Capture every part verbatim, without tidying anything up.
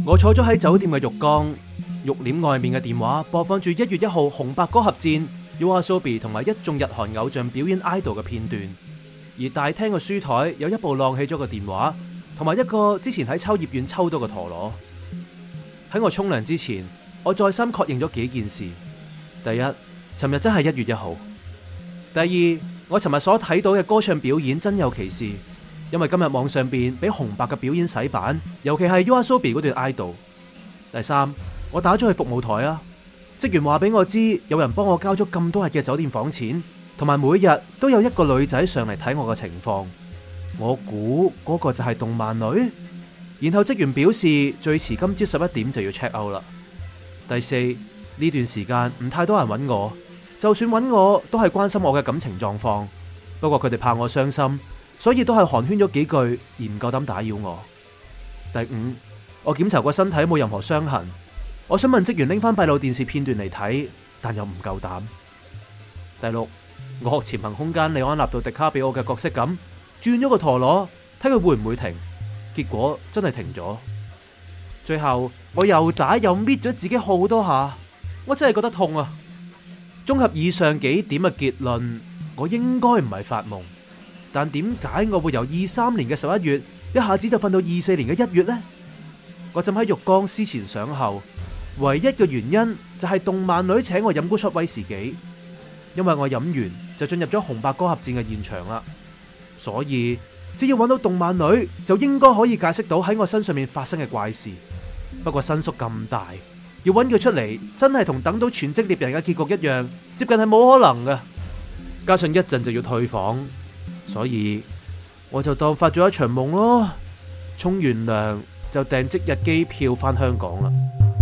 我坐咗喺酒店嘅浴缸，浴簾外面嘅電話播放住一月一號紅白歌合戰 YOASOBI 同埋一眾日韓偶像表演 idol 嘅片段，而大廳嘅書台有一部晾起咗嘅電話，同埋一個之前喺秋葉原抽到嘅陀螺。喺我沖涼之前，我再三確認咗幾件事：第一，尋日真係一月一號；第二，我尋日所睇到嘅歌唱表演真有其事。因為今日網上邊俾紅白嘅表演洗版，尤其係 YOASOBI 嗰段 idol。第三，我打咗去服務台啊，職員話俾我知有人幫我交咗咁多日嘅酒店房錢，同埋每日都有一個女仔上嚟睇我嘅情況。我估嗰個就係動漫女。然後職員表示最遲今朝十一點就要 check out 啦。第四，呢段時間唔太多人揾我，就算揾我都係關心我嘅感情狀況。不過佢哋怕我傷心，所以都係寒暄咗幾句，而唔夠膽打擾我。第五，我檢查過身體冇任何傷痕，我想問職員拎翻閉路電視片段嚟睇，但又唔夠膽。第六，我學潛行空間李安納度迪卡比奧嘅角色咁，轉咗個陀螺，睇佢會唔會停，結果真係停咗。最後我又打又搣咗自己好多下，我真係覺得痛啊！綜合以上幾點嘅結論，我應該唔係發夢。但點解我會由二三年嘅十一月一下子就瞓到二四年嘅一月呢？我浸喺浴缸思前想後，唯一嘅原因就係動漫女請我飲杯 shot 威士忌，因為我飲完就進入咗紅白歌合戰嘅現場啦。所以只要揾到動漫女，就應該可以解釋到喺我身上面發生嘅怪事。不過新宿咁大，要揾佢出嚟，真係同等到全職獵人嘅結局一樣，接近係冇可能嘅。加上一陣就要退房。所以我就當發咗一場夢咯，沖完涼就訂即日機票返香港啦。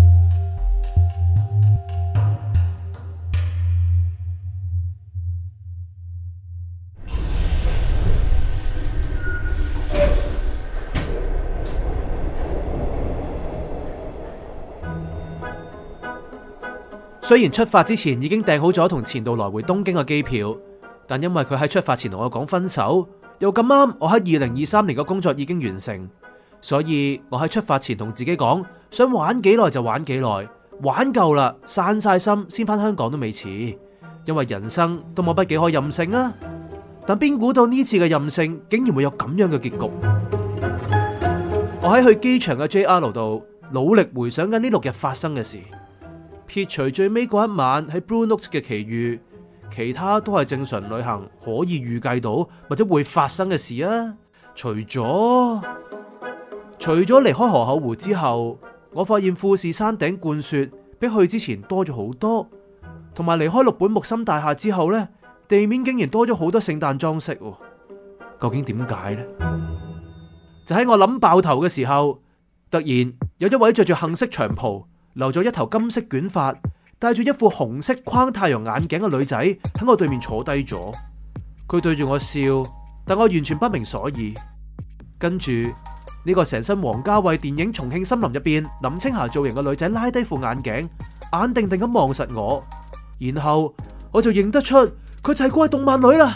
雖然出發之前已經訂好咗同前度來回東京嘅機票，但因為佢喺出發前同我講分手，又咁啱我喺二零二三年嘅工作已經完成，所以我喺出發前同自己講，想玩幾耐就玩幾耐，玩夠啦，散晒心先返香港都未遲，因為人生都冇乜幾可任性啊！但邊估到呢次嘅任性竟然會有咁樣嘅結局。我喺去機場嘅 J R 度努力回想緊呢六日發生嘅事，撇除最尾嗰一晚喺 Blue Note 嘅奇遇，其他都係正常旅行可以預計到或者會發生嘅事啊。除咗除咗離開河口湖之後，我發現富士山頂冠雪比去之前多咗好多，同埋離開六本木森大廈之後呢，地面竟然多咗好多聖誕裝飾。究竟點解呢？就喺我諗爆頭嘅時候，突然有一位着住杏色長袍、留咗一頭金色捲髮、戴住一副紅色框太陽眼鏡嘅女仔喺我對面坐低咗，佢對住我笑，但我完全不明所以。跟住呢個成身王家衛電影《重慶森林》入邊林青霞造型嘅女仔拉低副眼鏡，眼定定咁望實我，然後我就認得出佢就係嗰位動漫女啦。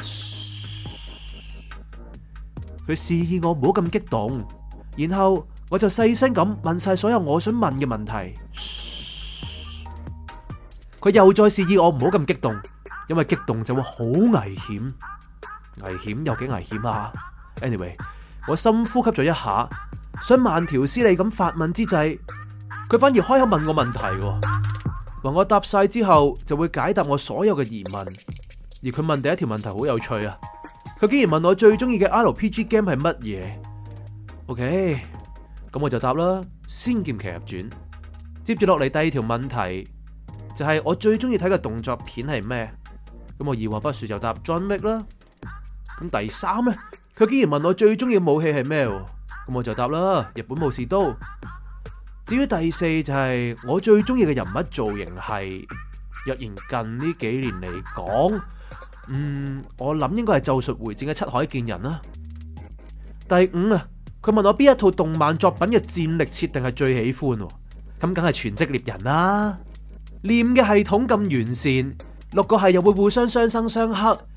佢示意我唔好咁激動，然後我就細聲咁問晒所有我想問嘅問題。佢又再示意我唔好咁激動，因為激動就會好危險。危險有幾危險啊 ？Anyway， 我深呼吸咗一下，想慢條斯理咁發問之際，佢反而開口問我問題，話我答晒之後就會解答我所有嘅疑問。而佢問第一條問題好有趣啊！佢竟然問我最中意嘅 R P G game 係乜嘢 ？OK， 咁我就答啦，《仙劍奇俠傳》。接住落嚟第二條問題就係我最中意睇嘅動作片係咩？咁我二話不說就答 John Wick 啦。咁第三呢，佢竟然問我最中意嘅武器係咩？咁我就答啦，日本武士刀。至於第四就係我最中意嘅人物造型係，若然近呢幾年嚟講，嗯，我諗應該係《咒術迴戰》嘅七海建人啦。第五啊，佢問我邊一套動漫作品嘅戰力設定係最喜歡？咁梗係全職獵人啦。念嘅系統咁完善，六個係又會互相相生相克，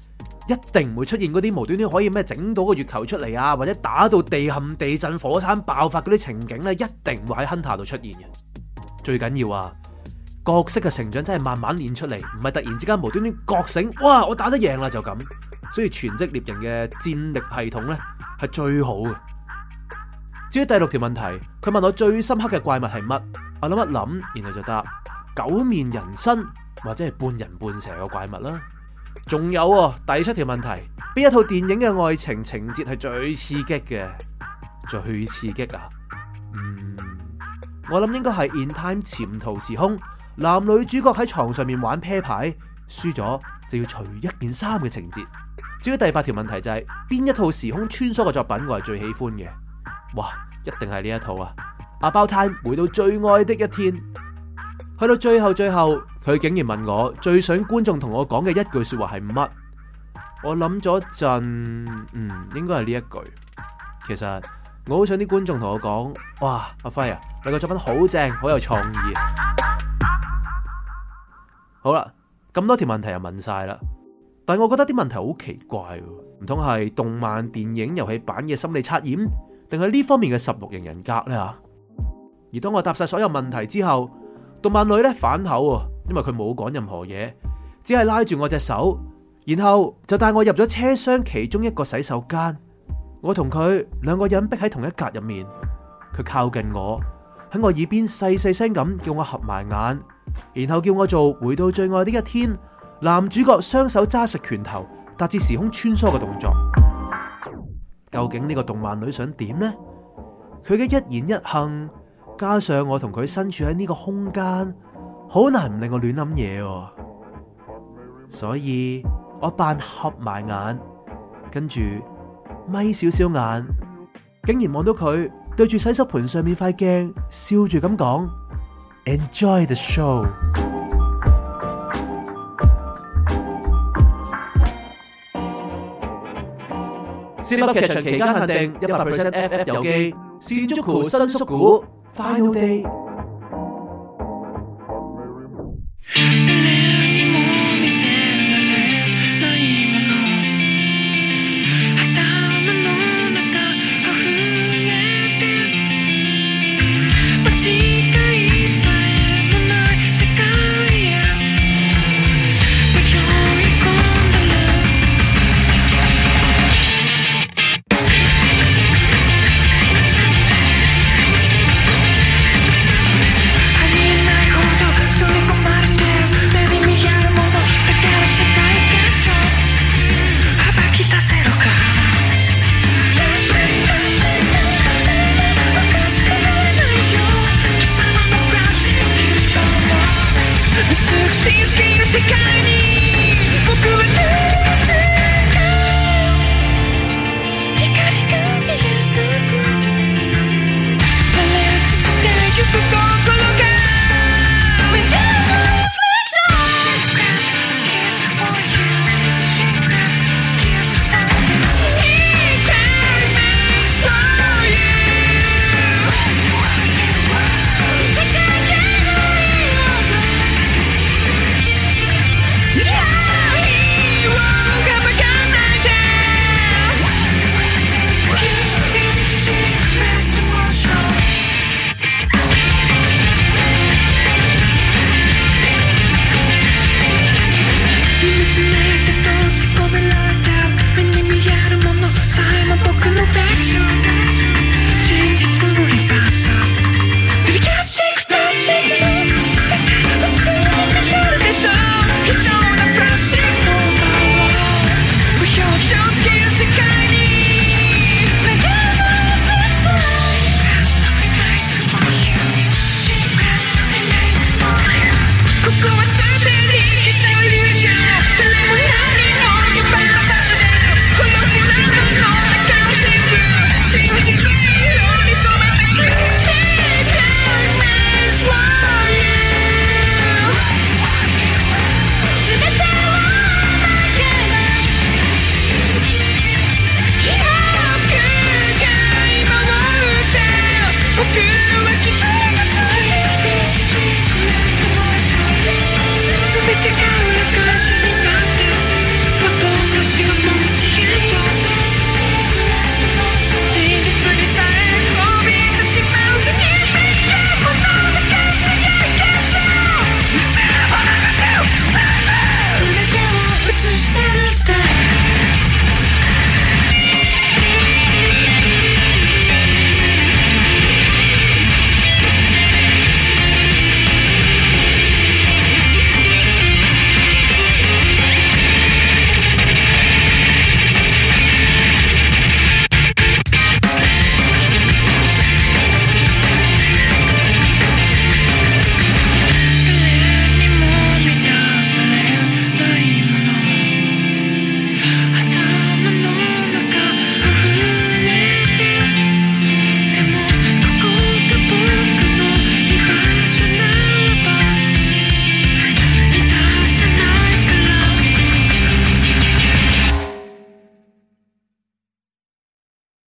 一定唔會出現嗰啲無端端可以咩整到個月球出嚟啊，或者打到地陷、地震、火山爆發嗰啲情景咧，一定會喺 Hunter 度出現嘅。最緊要啊，角色嘅成長真係慢慢練出嚟，唔係突然之間無端端覺醒，哇！我打得贏啦就咁。所以全職獵人嘅戰力系統咧係最好嘅。至於第六條問題，佢問我最深刻嘅怪物係乜？我諗一諗，然後就答九面人身或者係半人半蛇嘅怪物啦。仲有啊，第七條問題，邊一套電影嘅愛情情節係最刺激嘅？最刺激啊？嗯，我諗應該係 In Time 潛逃時空，男女主角喺床上面玩啤牌，輸咗就要除一件衫嘅情節。至於第八條問題就係、是、邊一套時空穿梭嘅作品我係最喜歡嘅？哇，一定係呢一套啊！About Time 回到最愛的一天。去到最後最後，佢竟然問我最想觀眾同我講嘅一句說話係乜？我諗咗陣，嗯，應該係呢一句。其實我好想啲觀眾同我講，哇，阿輝啊，你個作品好正，好有創意啊！好啦，咁多條問題又問晒啦，但係我覺得啲問題好奇怪，唔通係動漫、電影、遊戲版嘅心理測驗，定係呢方面嘅十六型人格呢？吓？而當我答晒所有問題之後，動漫女咧反口，因為佢冇講任何嘢，只係拉住我隻手，然後就帶我入咗車廂其中一個洗手間。我同佢兩個人逼喺同一格入面，佢靠近我，喺我耳邊細細聲咁叫我合埋眼，然後叫我做回到最愛的一天，男主角雙手揸實拳頭達至時空穿梭嘅動作。究竟呢個動漫女想點呢？佢嘅一言一行，加上我同佢身處喺呢個空間，好難唔令我亂諗嘢，所以我扮合埋眼，跟住眯少少眼，竟然望到佢對住洗手盆上面塊鏡，笑住咁講 Enjoy the show。 Zip 噏劇場期間限定一百 percent F F 遊記，Shinjuku 新宿故 Final Day。